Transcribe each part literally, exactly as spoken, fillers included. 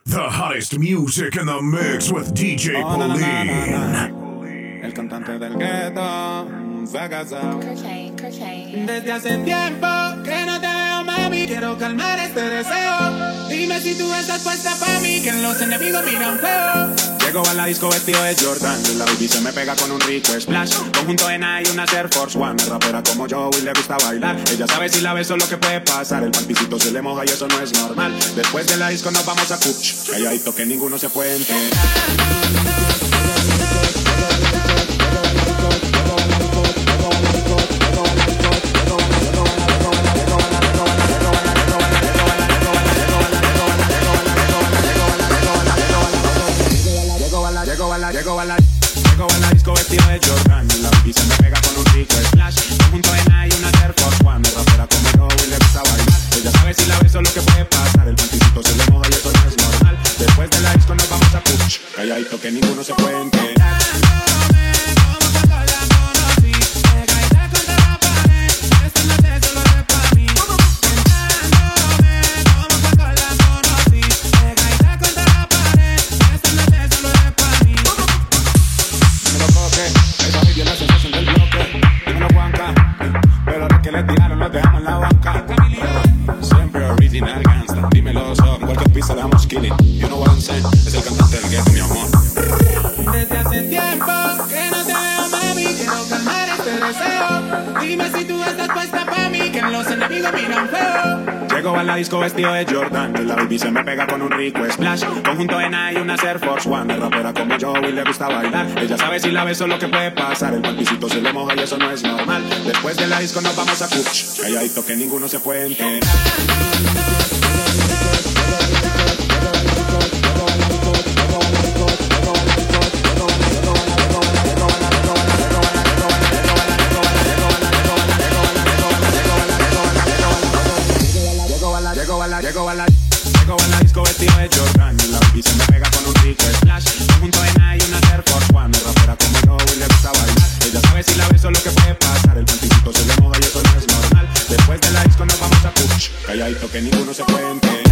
The hottest music in the mix with D J Oh, na, na, na, Pauline. na, na. El cantante del gueto se ha casado. Cocaine, cocaine. Desde hace tiempo que no te veo, mami. Quiero calmar este deseo. Dime si tú estás puesta pa' mí, que los enemigos miran feo. Llego a la disco vestido de Jordan y la baby se me pega con un rico splash. Conjunto en y una Air Force One. Es rapera como yo y le gusta bailar. Ella sabe si la beso lo que puede pasar. El panticito se le moja y eso no es normal. Después de la disco nos vamos a Cuch. Calladito que ninguno se puede enterar. Llego a la, llego a la, llego a la disco vestido de Jordan y la baby se me pega con un rico splash. Conjunto en y una Air Force One. Es rapera como yo y le gusta bailar. Ella sabe si la beso lo que puede pasar. El panticito se le moja y eso no es normal. Después de la disco nos vamos a Cuch. Calladito que ninguno se puede enterar. You know what I'm saying? Es el cantante del gueto, mi amor. Desde hace tiempo que no te veo, mami. Quiero calmar este deseo. Dime si tú estás puesta pa' mí, que los enemigos miran feo. Llego a la disco vestido de Jordan y la baby se me pega con un rico splash. Conjunto en y una Air Force One. Es rapera como yo y le gusta bailar. Ella sabe si la beso lo que puede pasar. El panticito se le moja y eso no es normal. Después de la disco nos vamos a Cuch. Calladito que ninguno se puede enterar. Llego a la, llego a la, llego a la disco vestido de Jordan y la baby se me pega con un rico splash. Conjunto en y una Air Force One. Es rapera como yo y le gusta bailar. Ella sabe si la beso lo que puede pasar. El panticito se le moja y eso no es normal. Después de la disco nos vamos a Cuch. Calladito que ninguno se puede enterar.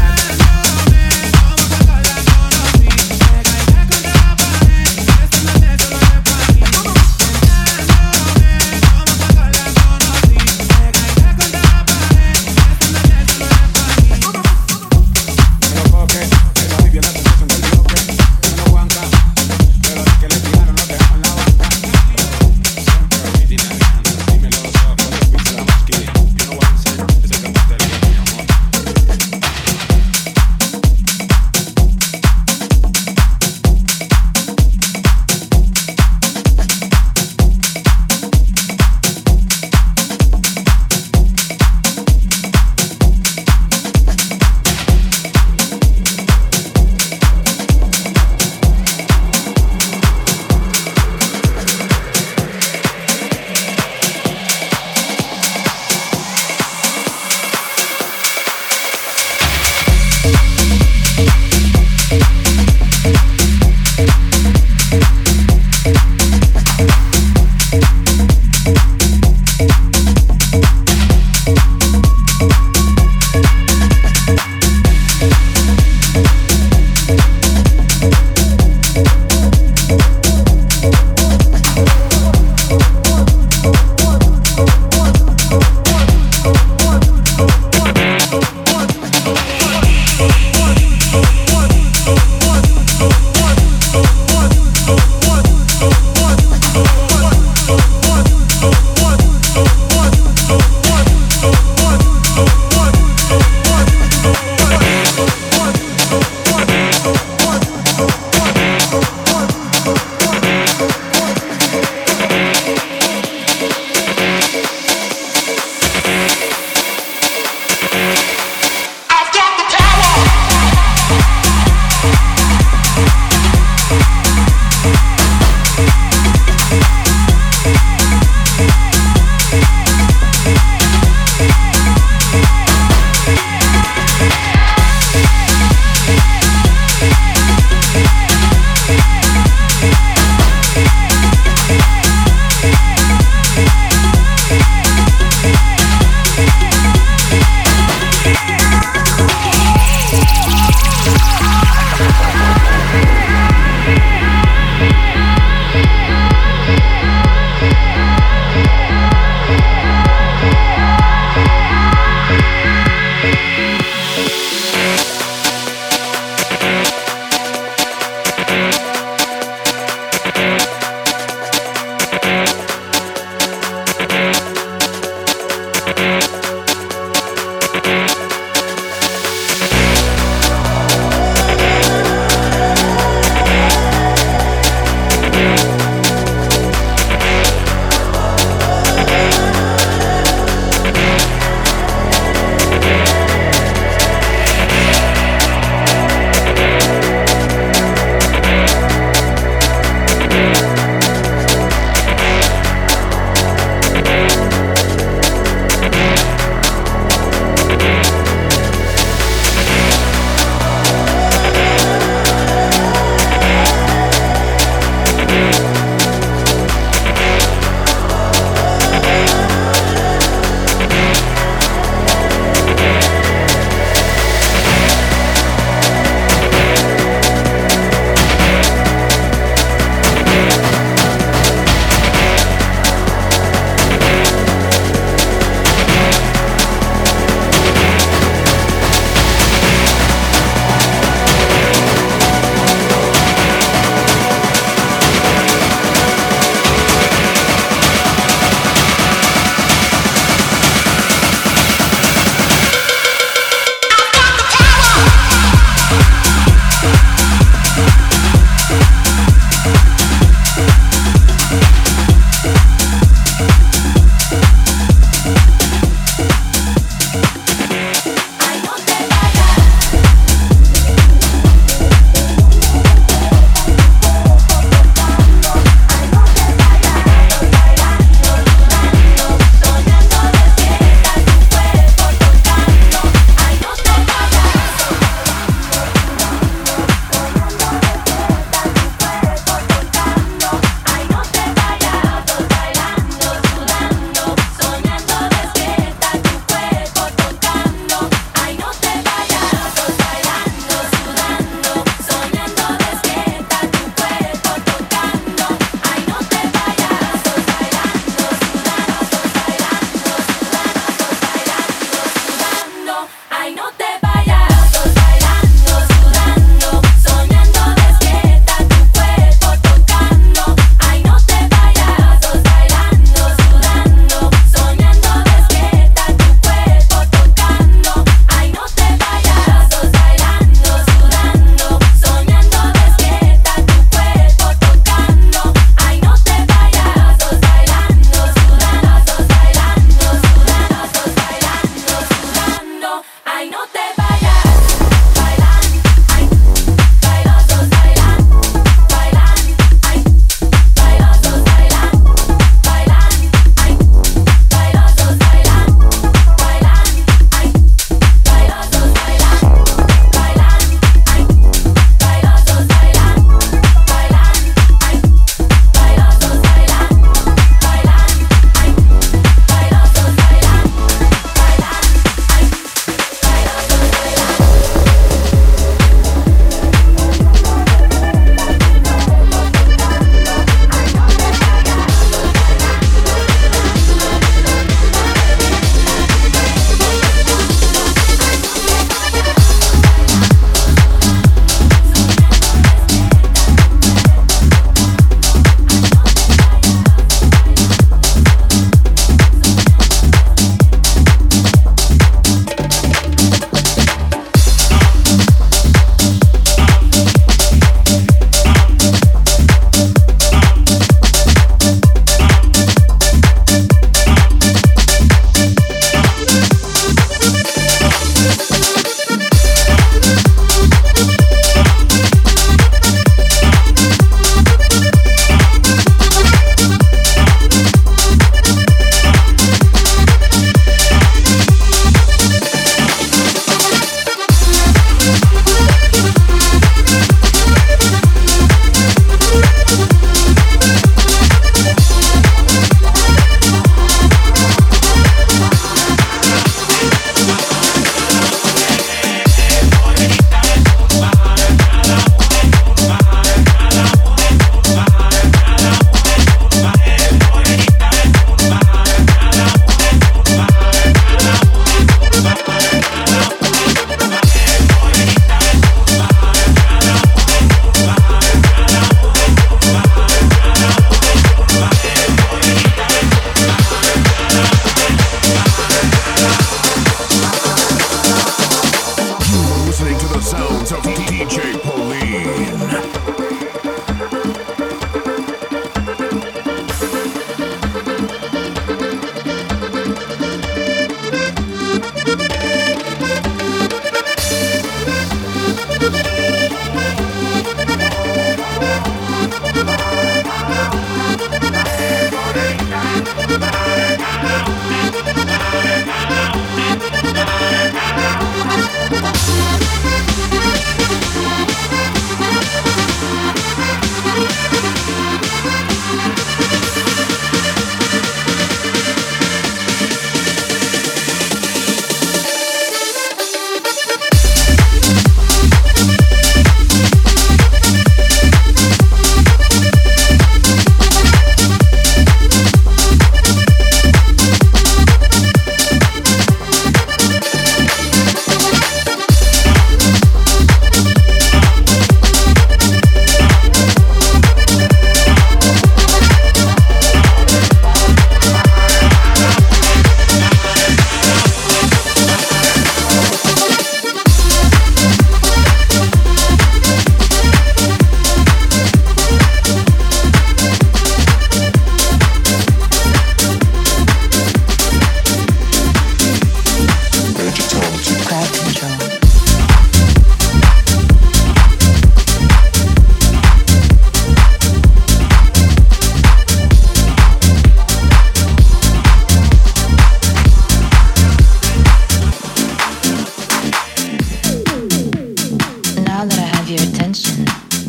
have your attention.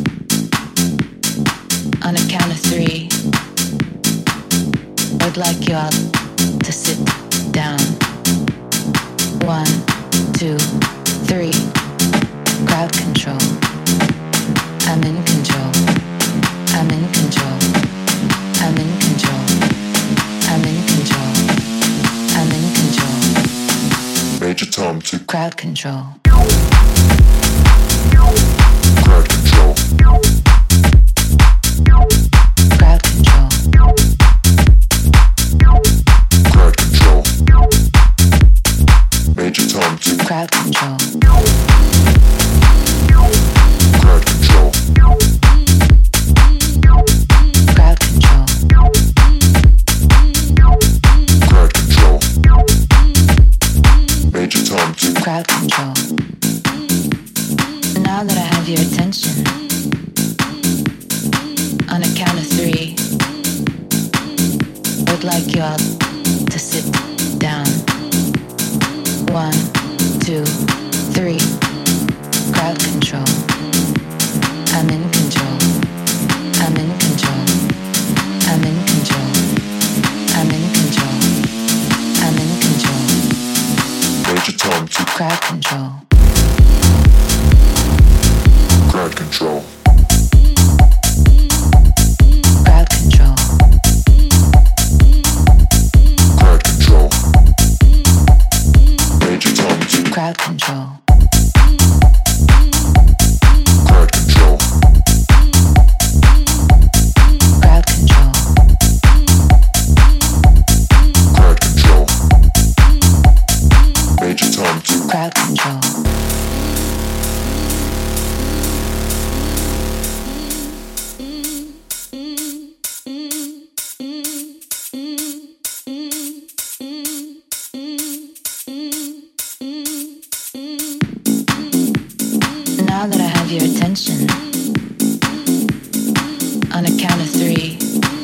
On a count of three, I'd like you all to sit down. One, two, three. Crowd control. I'm in control. I'm in control. I'm in control. I'm in control. I'm in control. Major Tom to crowd control. Crowd control. Crowd control. Crowd control. Major Tom to crowd control. Crowd control. Crowd control. Crowd control. Major Tom to crowd control. Now that I have your attention, on a count of three, I'd like you all to sit down. One, two, three. Crowd control. I'm in control. I'm in control. I'm in control. I'm in control. I'm in control. Major Tom to Crowd control. crowd control. Crowd control. Crowd control. Major Tom to Crowd control. crowd control. Crowd control. Crowd control. Major Tom to Crowd control. Now that I have your attention, on a count of three,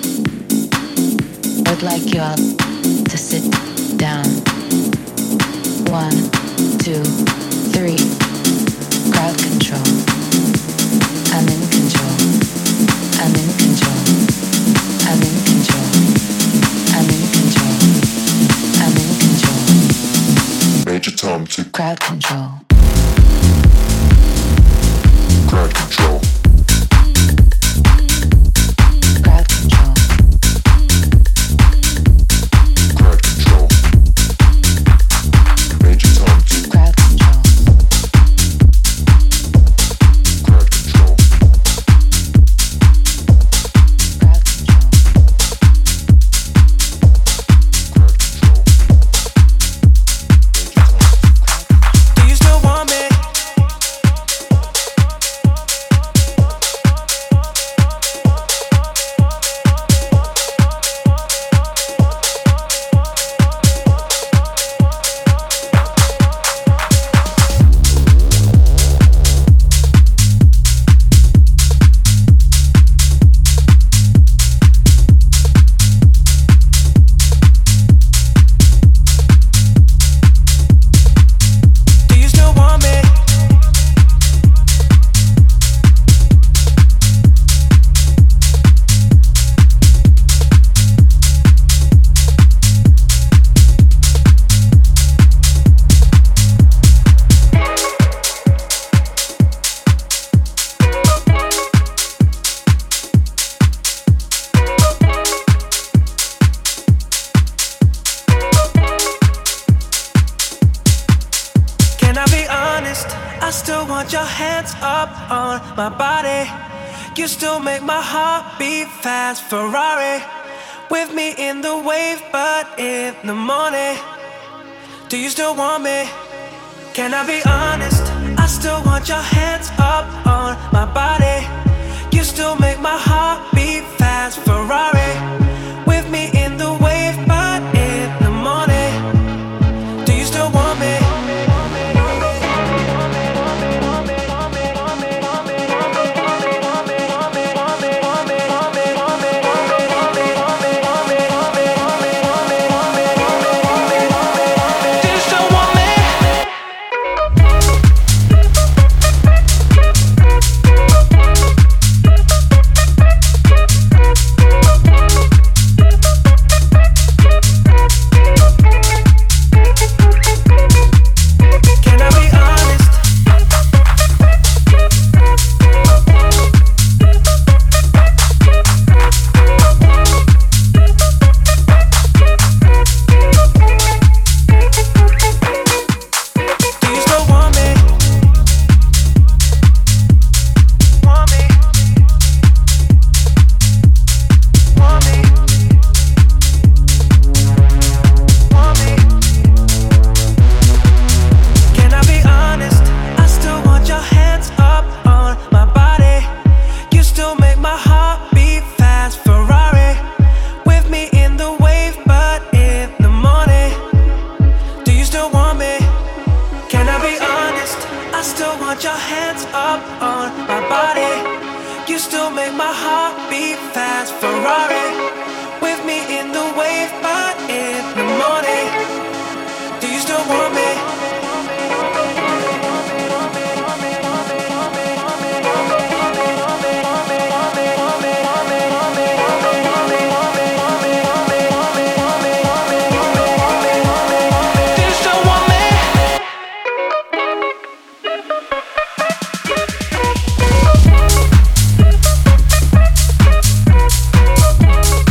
I'd like you all to sit down. One, two, three. Crowd control. I'm in control. I'm in control. I'm in control. I'm in control. I'm in control. Major Tom to Crowd control. crowd control. Crowd control. Crowd control. Major Tom to Crowd control. crowd control. Crowd control. Crowd control. Do you still want me? Do you still want me? Can I be honest? I still want your hands up on my body. You still make my heart beat fast. Ferrari with me in the wave, but in the morning. Do you still want me? Can I be honest? I still want your hands up on my body. You still make my heart beat fast. Ferrari with me in the wave, but in the morning. Do you still want me? Do you still want me? You still make my heart beat fast. Ferrari, with me in the wave, but in the morning. Do you still want me? We'll be right back.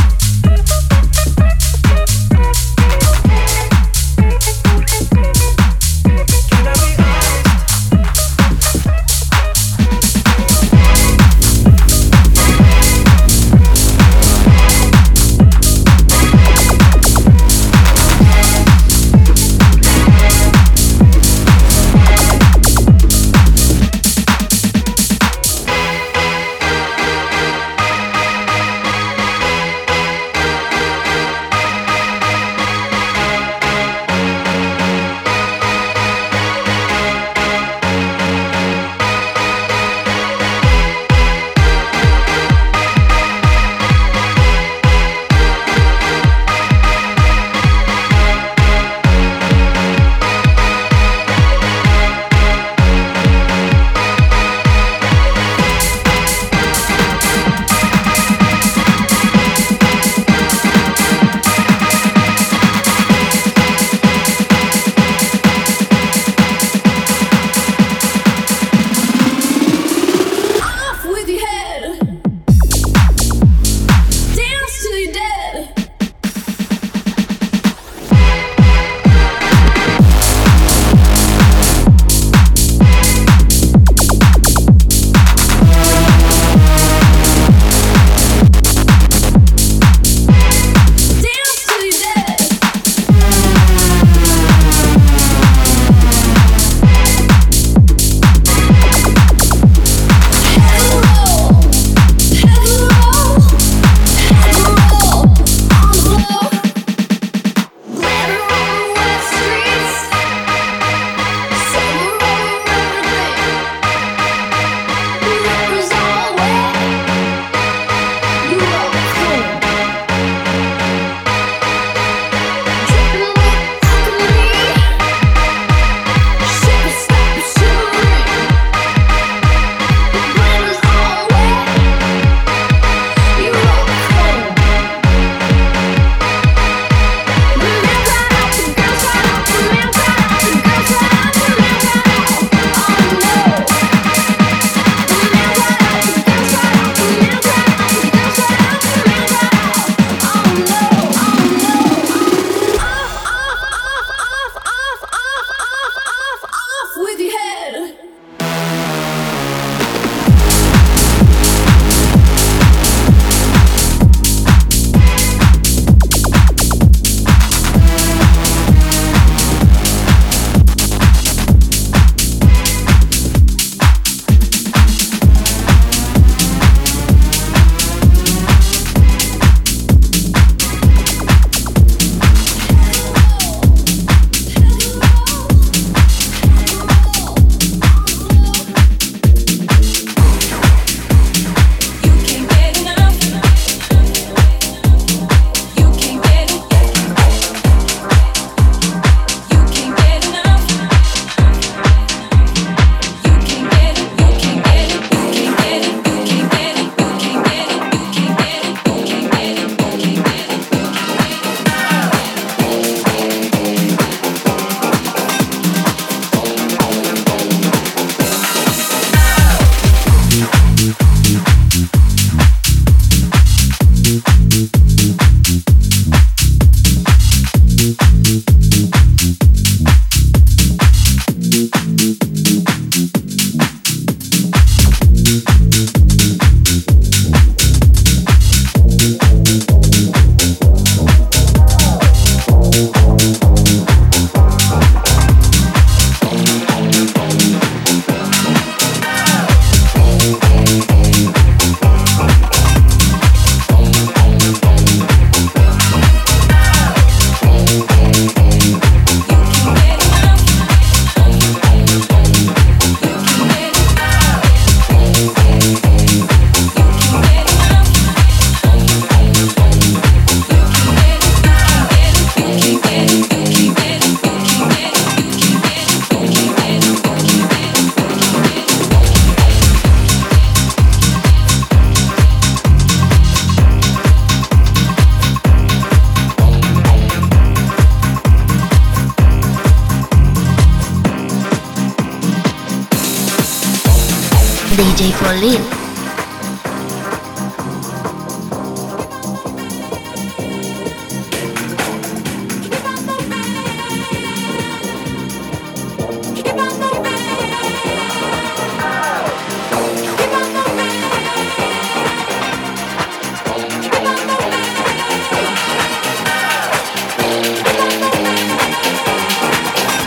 D J Polil.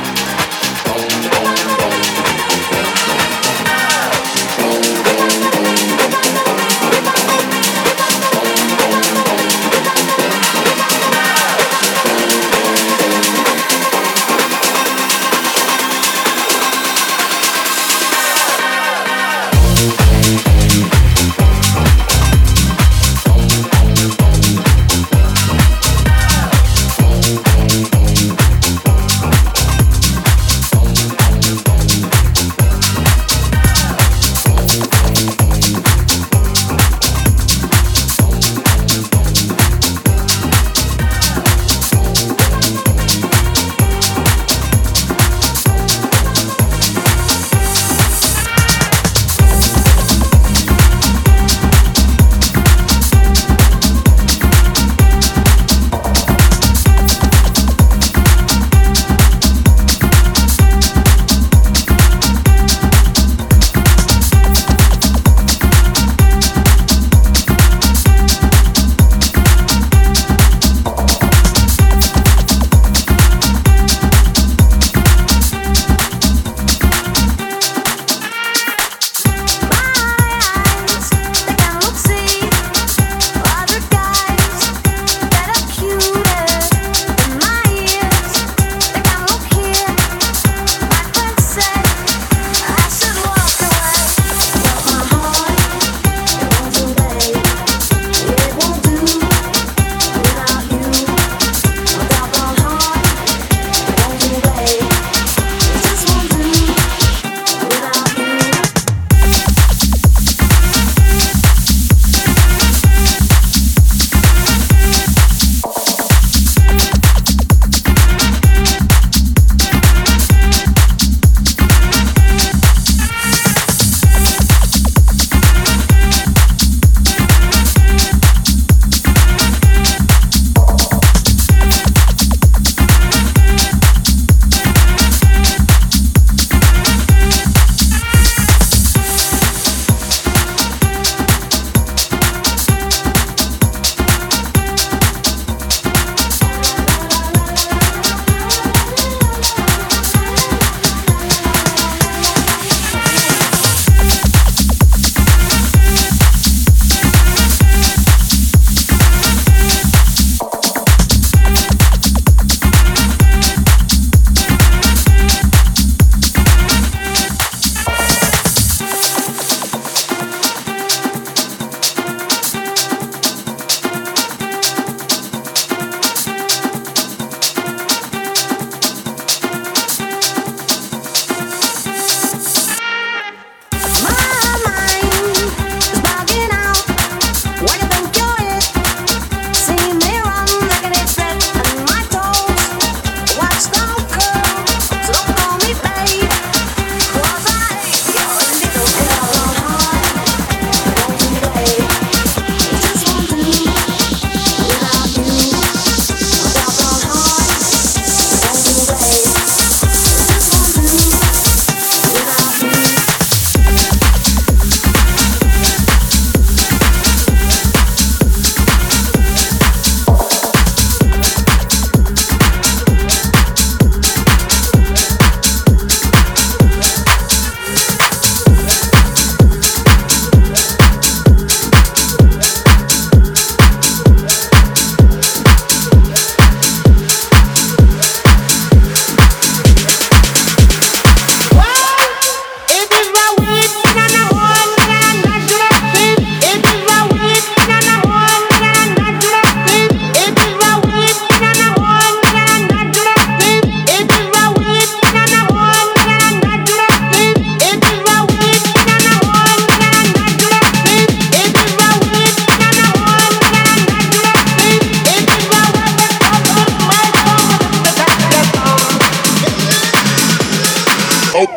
We'll be right back.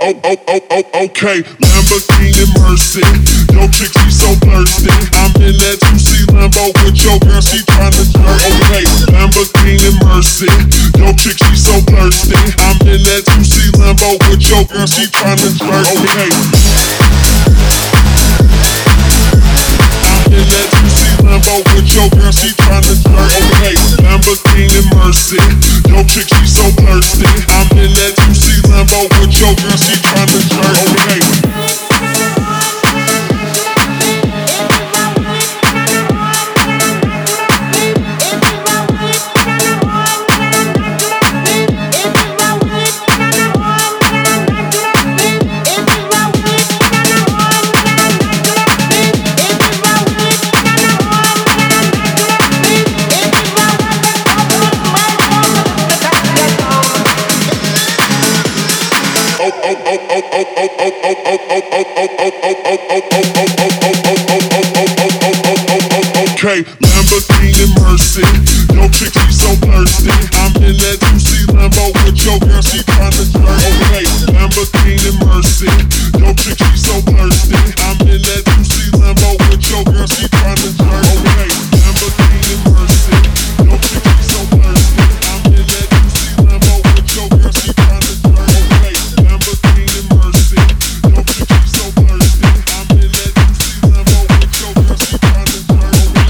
oh, oh, oh, oh, okay. Lamborghini Mercy, yo chick she so thirsty. I'm in that two C Lambo with your girl, she tryna flirt. Okay, Lamborghini Mercy, yo chick she so thirsty. I'm in that two C Lambo with your girl, she tryna flirt. Okay. In that two C Lambo with your girl, she tryna flirt. Okay, Lamborghini Mercy, yo chick she so thirsty. I'm in that two C Lambo with your girl, she tryna flirt. Okay. Okay, Lamborghini Mercy, yo chick she so thirsty. I'm in that two C Lambo with your girl, she tryna flirt. Okay, Lamborghini Mercy, yo chick she so thirsty. I'm in that two C Lambo with your girl, she tryna flirt. Okay, Lamborghini Mercy, yo chick she so thirsty. I'm in that two C Lambo with your girl, she tryna flirt. Okay, Lamborghini Mercy, yo chick she so thirsty. I'm in that two C Lambo with your girl, she tryna flirt.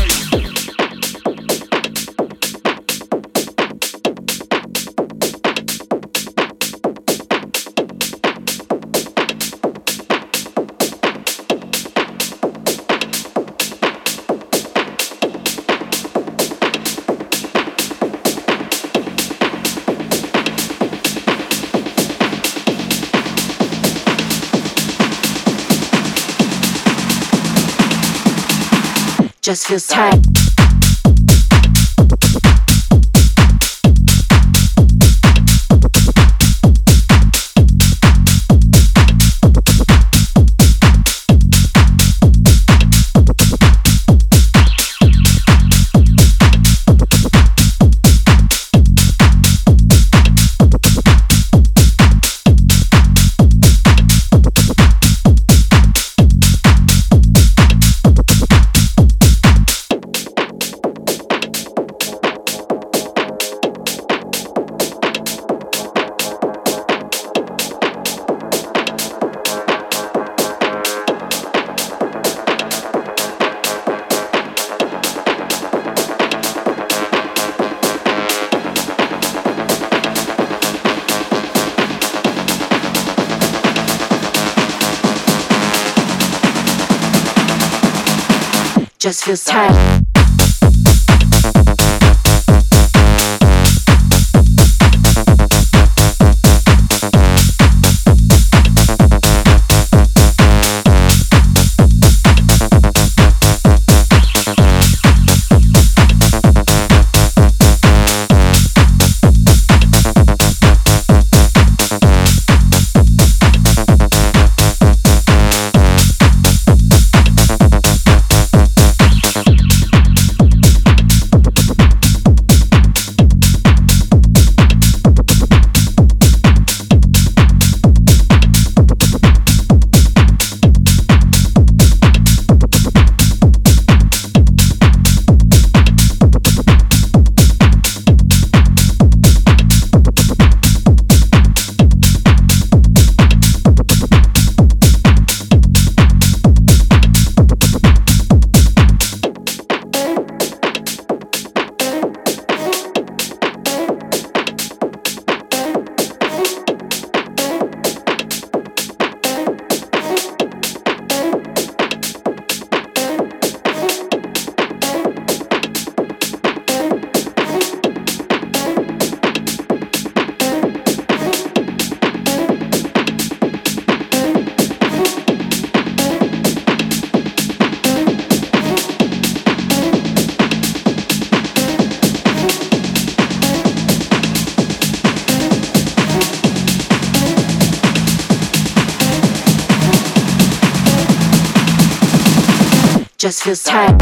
Just feels tight. Just feels tight. Just feels tight.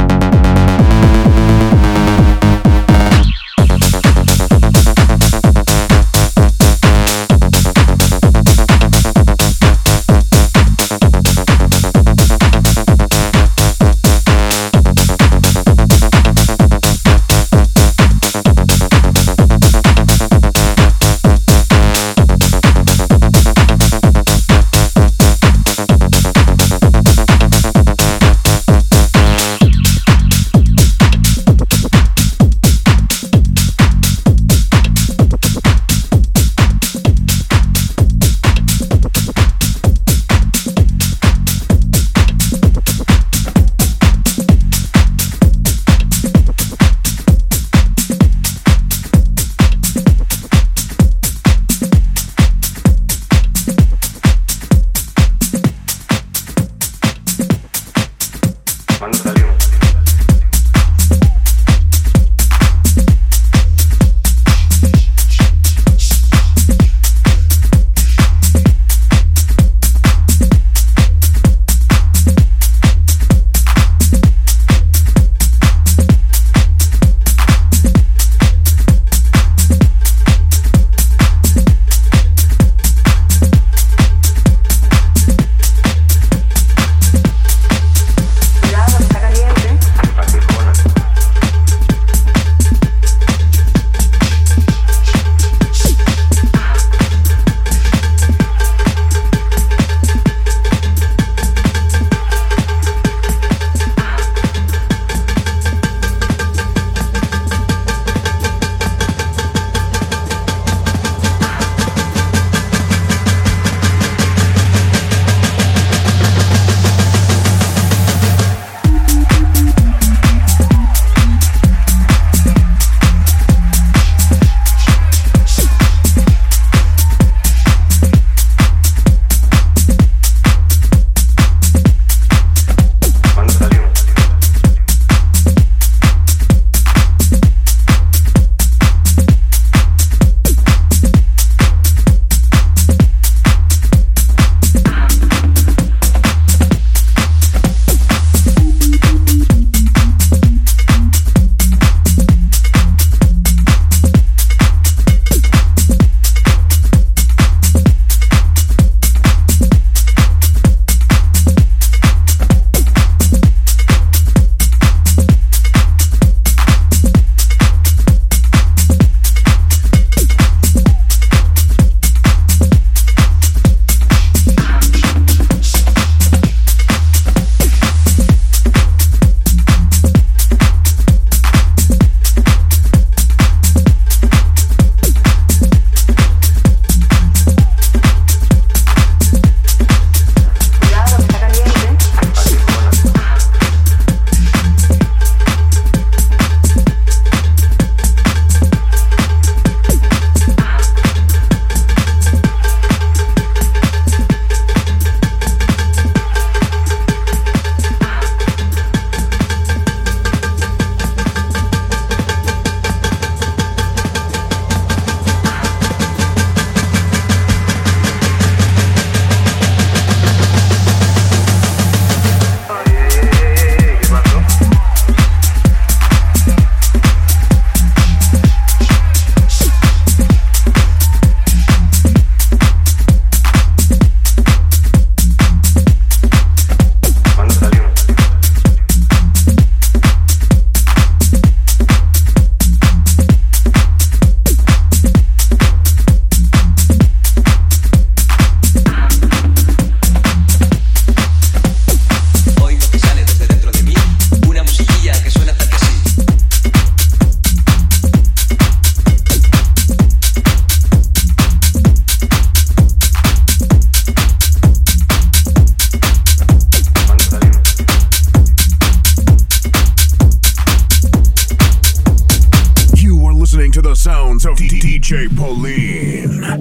sounds of D J Pauline.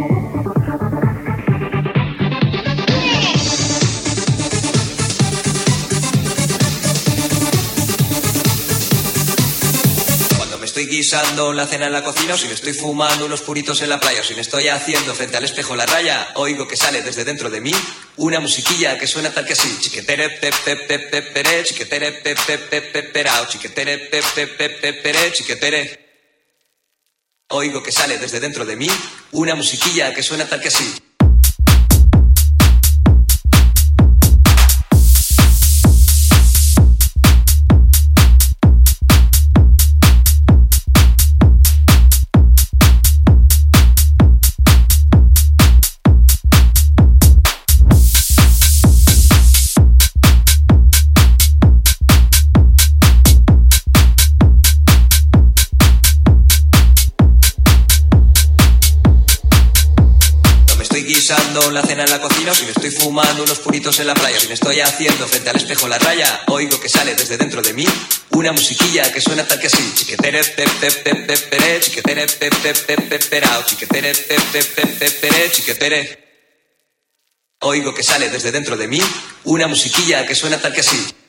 Estoy guisando la cena en la cocina, o si me estoy fumando unos puritos en la playa, o si me estoy haciendo frente al espejo la raya, oigo que sale desde dentro de mí una musiquilla que suena tal que así: chiquetere pe pe pe pe pere, chiquetere pe pe pe pe perao, chiquetere pe pe pe pe pere, chiquetere. Oigo que sale desde dentro de mí una musiquilla que suena tal que así. Guisando la cena en la cocina, o si me estoy fumando unos puritos en la playa, o si me estoy haciendo frente al espejo la raya, oigo que sale desde dentro de mí una musiquilla que suena tal que así: chiquetere pe pe pe pe pere, chiquetere pe pe pe pe perao, chiquetere pe pe pe pe pere, chiquetere. Oigo que sale desde dentro de mí una musiquilla que suena tal que así.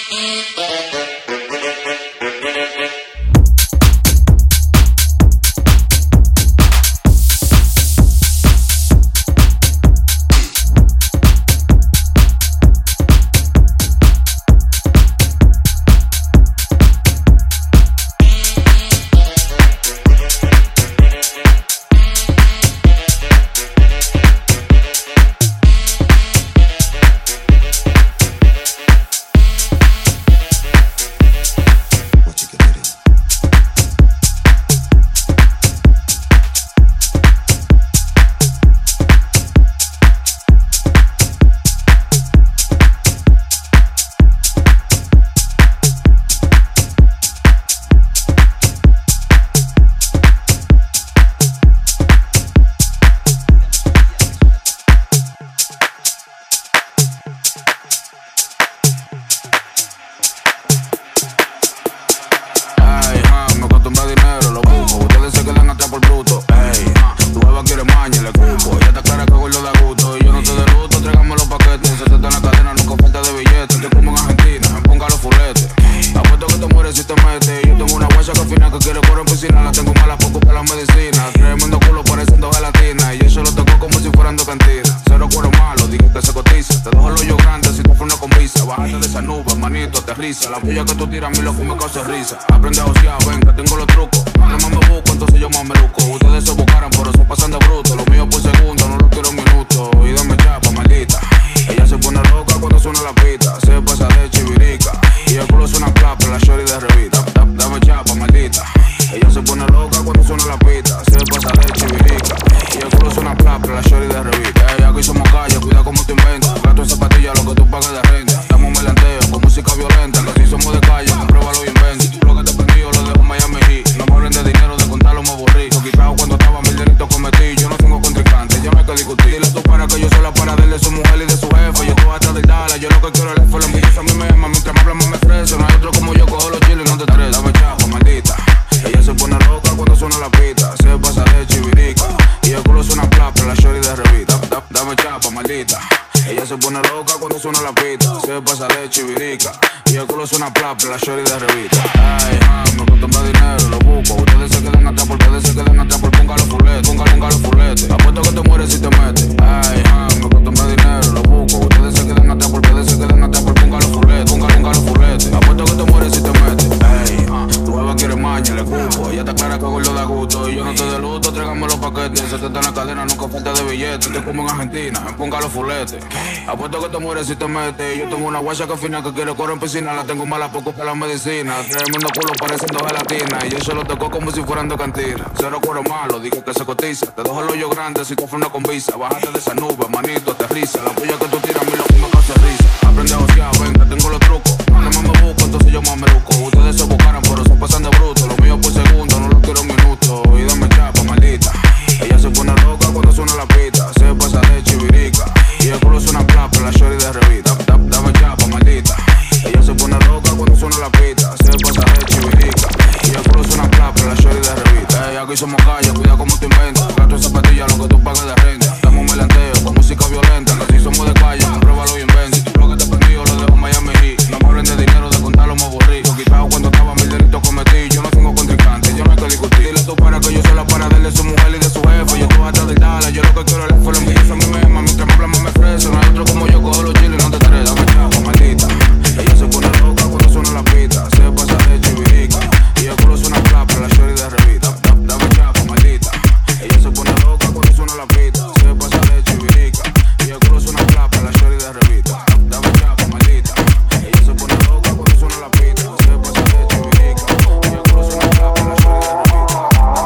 La puya que tú tiras a mí lo que me causa risa. Aprende a josear, ven que tengo los trucos. Nada más me busco, entonces yo más me luco. Ustedes se buscaran, pero son pasando bruto. Lo mío por segundo, no lo quiero un minuto. Y dame chapa, maldita. Ella se pone loca cuando suena la pita. Se pasa de chivirica. Y el culo suena plapa, la shorty de revista. Dame chapa, maldita. Ella se pone loca cuando suena la pita. Se pasa de chivirica. Y el culo suena plapa, la shorty de revista. Ey, aquí somos calle, cuida como te inventas. Gato en zapatilla, lo que tú pagas de renta. Dame un melanteo con música violenta. Que si somos de calle, compruébalo y inventa. Lo que te prendió lo dejo en Miami Heat. No me hablen de dinero, de contarlo me aburrí. Lo quitado cuando estaba mil delitos cometí. Yo no tengo contrincante, ya me que discutir. Dile tú para que yo soy la para de él, de su mujer y de su jefe. Yo estoy atrás del Dala, yo lo que quiero es el F. La envidia a mí me ama, mientras me hablan me crece. No hay otro como yo, cojo los chiles y no te estreses. Dame chapa, maldita. Ella se pone loca cuando suena la pita. Se pasa de chivirica. Y el culo suena plapa, la shorty de revista. Dame chapa, maldita. Ella se pone loca cuando suena la pita. Se pasa de chivirica. Y el culo suena plapa, la shorty de revista. Ay, ah, me cuesta más dinero, lo busco. Ustedes se quedan atrás, porque ustedes se quedan atrás. Por ponga los fuletes, ponga, ponga los fuletes. Apuesto que te mueres si te metes. Ay, ah, me cuesta más dinero, lo busco. Ustedes se quedan atrás, porque ustedes se quedan atrás. Por ponga los fuletes, ponga, ponga los fuletes. Apuesto que te mueres si te metes. Ay, ah, tu beba quiere maña, le cupo. Ella está clara que gordo da gusto. Y yo no te de luto, tráigame los paquetes. Se te está en la cadena, nunca falta de billetes. Te como en Argentina, ponga los fuletes. Apuesto que te mueres si te metes. Yo tengo una guacha que fina que quiere correr en piscina. La tengo mala poco para la medicina. Tremendo culo pareciendo gelatina. Y yo se lo tocó como si fueran de cantina. Cero cuero malo, digo que se cotiza. Te dejo el hoyo grande si tú frenas con visa. Bájate de esa nube, manito, aterriza. La puya que tú tiras a mí lo que me causa risa. Aprende a josear, ven que tengo los trucos. Nada más me busco, entonces yo más me luco. Ustedes se buscaran, pero se pasan de bruto. Lo mío por segundo, no lo quiero un minuto. Y dame chapa, maldita. Ella se pone loca cuando suena la pita. Se pasa de chivirica. Y el culo suena plapa, la shorty de revista. Dame chapa, maldita. Ella se pone loca cuando suena la pita. Se pasa de chivirica. Y el culo suena plapa, la shorty de revista. Ey, aquí somos calle, cuida como te inventas. Gato en zapatilla, lo que tú pagas de renta. Dame un melanteo con música violenta. Que si somos de calle, compruébalo y inventa. Lo que te prendió lo dejo en Miami Heat. No me hablen de dinero, de contarlo me aburrí. Lo quitado cuando estaba mil delitos cometí. Yo no tengo contrincante, ya no hay que discutir. Dile tú para que yo soy la para de él, de su mujer y de su jefe. Yo estoy atrás del Dala, yo lo que quiero es el F. La envidia a mí me ama, mientras me hablan me crece. No hay otro como yo, cojo los chiles y no te estreses. Dame chapa, maldita. Ella se pone loca cuando suena la pita. Se pasa de chivirica. Y el culo suena plapa, la shorty de revista. Dame chapa, maldita. Ella se pone loca cuando suena la pita. Se pasa de chivirica. Y el culo suena plapa, la shorty de revista. Dame chapa, maldita. Ella se pone loca cuando suena la pita. Se pasa de chivirica. Y el culo suena plapa, la shorty de revista.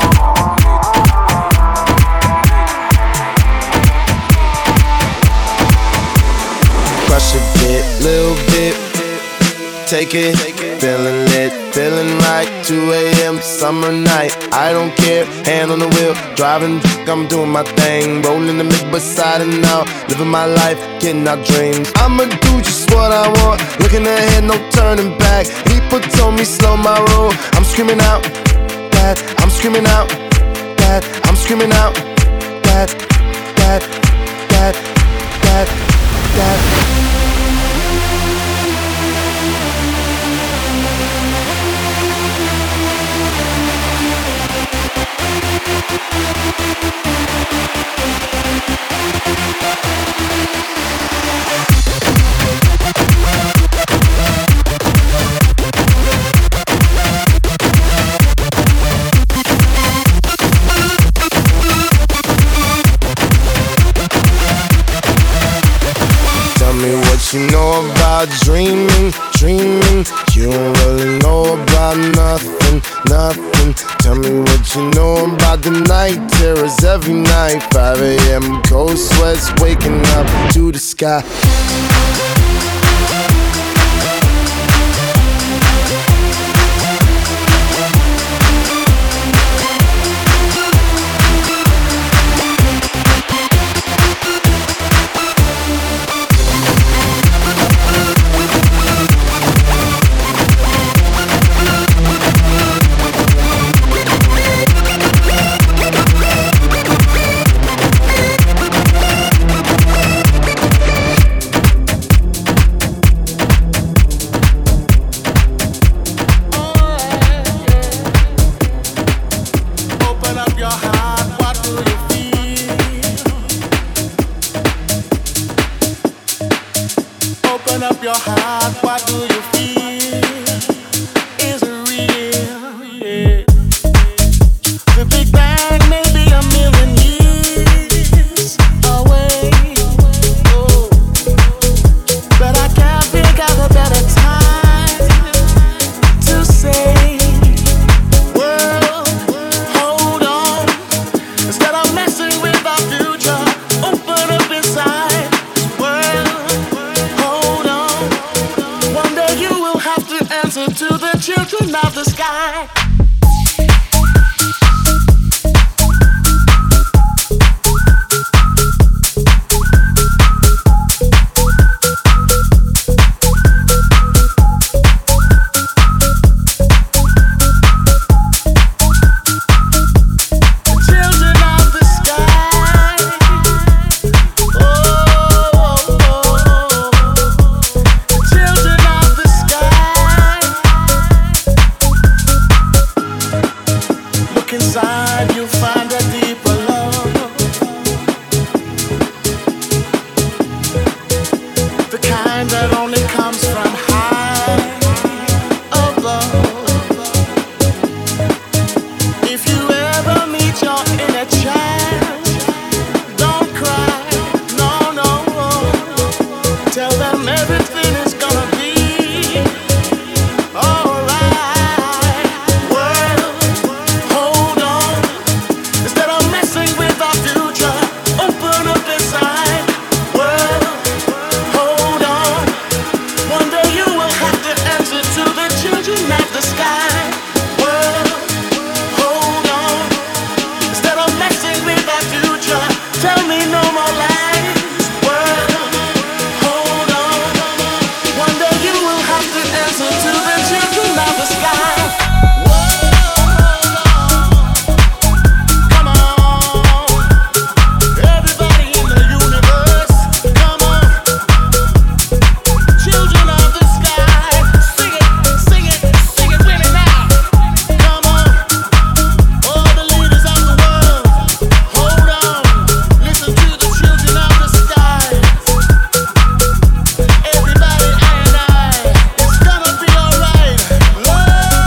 Crush a bit, little bit, take it, feeling lit, feeling right, two a.m. summer night, I don't care, hand on the wheel, driving, I'm doing my thing, rolling the mid beside and out, living my life, getting our dreams, I'ma do just what I want, looking ahead, no turning back, people told me slow my roll, I'm screaming out, that, I'm screaming out, that, I'm screaming out, that, that, that, that, that. You don't really know about nothing, nothing. Tell me what you know about the night terrors every night. five a.m. cold sweats waking up to the sky.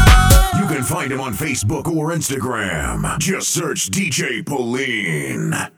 Facebook or Instagram. Just search D J Pauline.